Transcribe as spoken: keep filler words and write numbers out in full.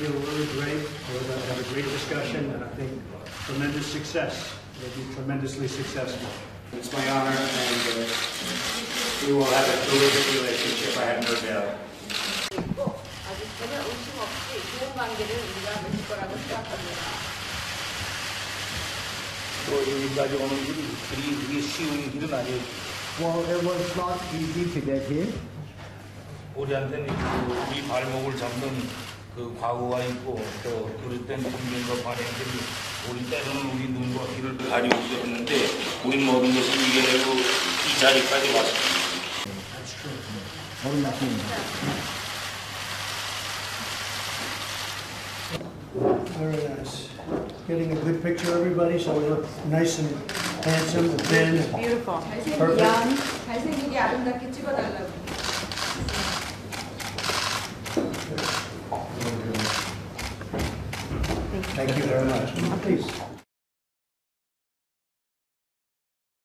feel really great. We're going to have a great discussion, and I think tremendous success. We'll be tremendously successful. It's my honor, and uh, we will have a terrific relationship, I have no doubt. 아주 전혀 의심 없이 좋은 관계를 우리가 맺을 거라고 생각합니다. 또 여기까지 오는 길이 그리 그리 쉬운 길은 아니에요. Well, it was not easy to get here. 우리한테는 그 우리 발목을 잡는 그 과거가 있고 또 그릇된 국민과 관행들이 우리 때로는 우리 눈과 귀를 가리우기도 했는데 우리 모든 것을 이겨내고 이 자리까지 왔습니다. That's true. 어른 낳습니다. Very nice. Getting a good picture, everybody, so we look nice and handsome and thin. and Beautiful. Perfect. 잘생기게 아름답게 찍어달라고. Thank you very much. Please.